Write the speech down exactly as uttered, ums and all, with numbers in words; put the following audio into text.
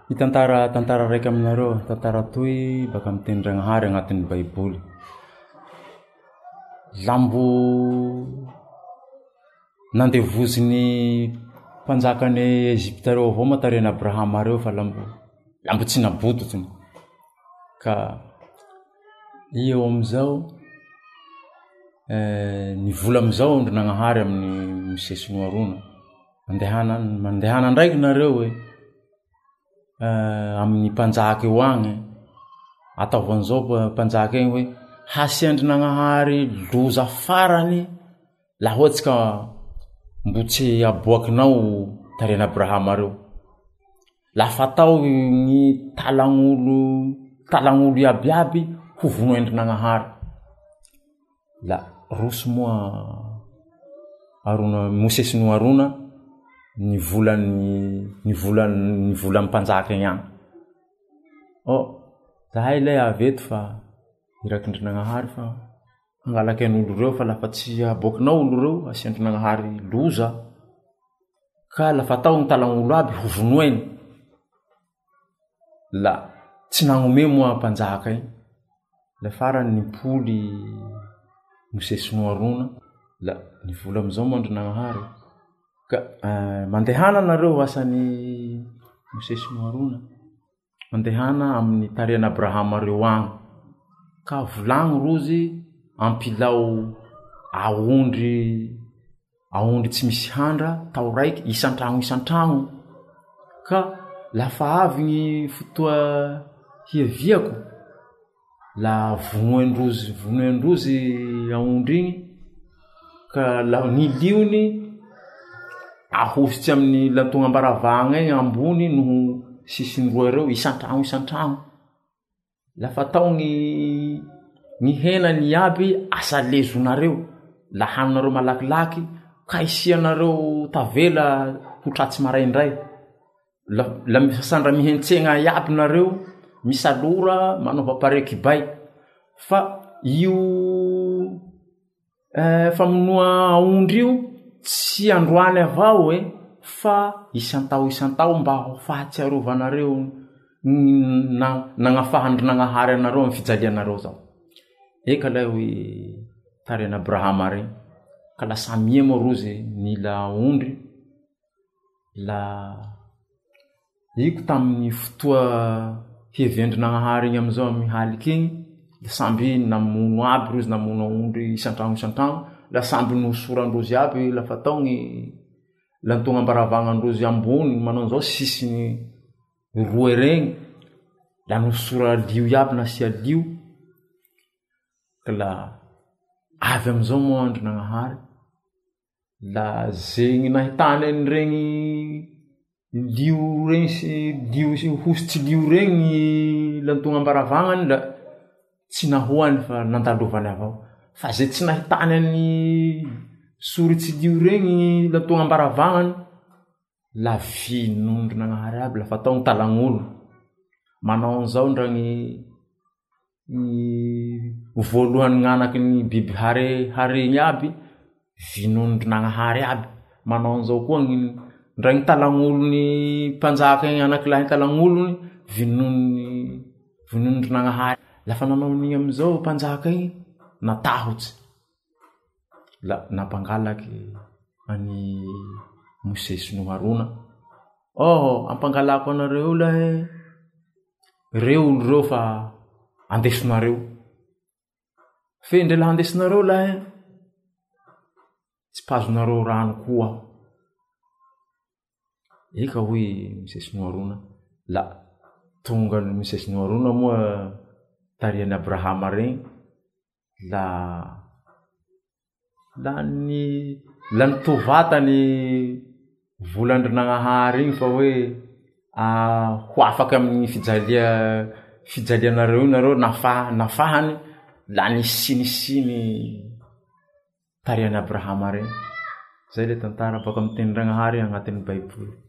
Itantara tantara raiky aminareo, tantara toy baka amin'ny Tendranahary agnatin'ny Baiboly. Lambo nandevozin'ny mpanjakan'ny Egypte reo avao matarena Abrahama reo fa lambo lambo tsy nabototsiny. Ka i eo amizao eh, ny vola amizao Andrinanahary amin'ny Mosesy Noarona. Mandehana mandehana ndraiky nareo e. Uh, amin'ny mpanjaka eo agny ataovan'izao mpanjaka egny hoe hasy Andrinanahary loza farany laha ohatsy ka mbo tsy aboakinao tarena Abrahama reo. Laha fatao gny talagn'olo talagn'olo iabiaby ho vono Andrinanahary. La roso moa Arona Mosesy no Arona ny volan'ny ny volan'ny ny volan'ny mpanjaka igny agny. Oh, zahay lay aveto fa iraky Andrinanahary fa hangalaky an'olo reo fa lafa tsy aboakinao olo reo asy Andrinanahary loza ka lafa tao gny talagn'olo aby ho vonoeny. La tsy nagnome moa mpanjaka igny. La farany nipoly Mosesy no Arona la ny vola amizao moa Andrinanahary. Ka uh, mandehana nareo asan'ny Mosesy no Arona. Mandehana amin'ny tarena Abrahama reo agny. Ka volagno rozy ampilao aondry aondry tsy misy handra tao raiky isan-tragno isan-tragno. Ka lafa avy gny fotoa hiaviako la vonoendrozy vonoendrozy aondry igny ka la ny liony ahositsy amin'ny lantogna ambaravagna egny ambony noho sisiny roa reo isan-tragno isan-tragno. Lafa tao gny gny henany aby asa lezonareo la haninareo malakilaky ka isianareo tavela ho tratsy maraindray. La, la sandra mihentsegna iaby nareo misalora manova pareky bay fa io eh, famonoa aondry io tsy androany avao e fa isantao isantao mba ho fahatsiarovanareo na nagnafahandrinanahary anareo amin'ny fijalianareo zao. Eka lay hoe tarena Abrahama regny ka la samia moa rozy nila ondry. La iko tamin'ny fotoa hiaviandrinanahary igny amizao mihaliky igny la samby namono aby rozy namono ondry isan-tragno isan-tragno. La samby nosorandrozy aby lafa tao gny lantogna ambaravagnan-drozy ambony manao an'izao sisiny roa regny la nosora lio iaby nasia lio. Ka la avy amizao moa Andrinanahary la zegny nahitany an'iregny lio regny sy lio sy hositsy lio regny lantogna ambaravagnany la tsy nahoany fa nandalovany avao. Fa ze tsy nahitany any soritsy lio regny lantogna ambaravagnany la vinondrinanahary aby lafa tao gny talagn'olo. Manao an'izao ndra gny gny voalohany gn'anaky ny biby hare haregny aby vinondrinanahary aby. Manao an'izao koa gny ndra gny talagn'olony mpanjaka igny anakilahy talagn'olony vinony vinondrinanahary. Lafa nanao an'igny amizao mpanjaka igny natahotsy la nampangalaky any Mosesy no Arona. Oh, ampangalako anareo lahy reo olo reo fa andesonareo fe ndre la andesonareo lahy tsy pazonareo rano koa. Eka hoy Mosesy no Arona. La tonga ny Mosesy no Arona moa tarian'ny Abrahama regny la la ny la nitovatany volandrinanahary igny fa hoe ah, ho afaky amin'ny fijalia fijalianareo nareo nafa nafahany la nisinisiny tarian'ny Abrahama regny. Zay le tantara baka amin'ny Tendranahary agnatin'ny Baiboly.